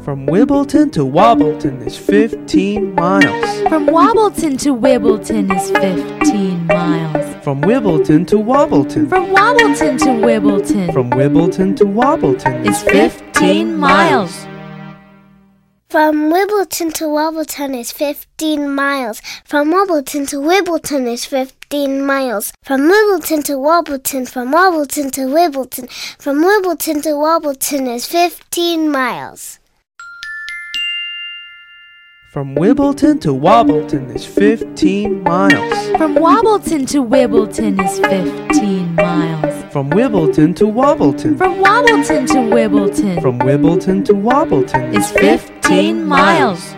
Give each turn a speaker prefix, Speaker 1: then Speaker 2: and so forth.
Speaker 1: From Wimbledon to Wobbleton is 15 miles.
Speaker 2: From Wobbleton to Wimbledon is 15 miles.
Speaker 1: From Wimbledon to Wobbleton.
Speaker 2: From Wobbleton to Wimbledon.
Speaker 1: From Wimbledon to Wobbleton
Speaker 2: is 15 miles.
Speaker 3: From Wimbledon to Wobbleton is 15 miles. From Wobbleton to Wimbledon is 15 miles. From Wimbledon to Wobbleton, from Wobbleton to Wimbledon, from Wimbledon to Wobbleton is 15 miles.
Speaker 1: From Wimbledon to Wobbleton is 15 miles.
Speaker 2: From Wobbleton to Wimbledon is 15 miles.
Speaker 1: From Wimbledon to Wobbleton.
Speaker 2: From Wobbleton to Wimbledon.
Speaker 1: From Wimbledon to Wobbleton
Speaker 2: is 15 miles.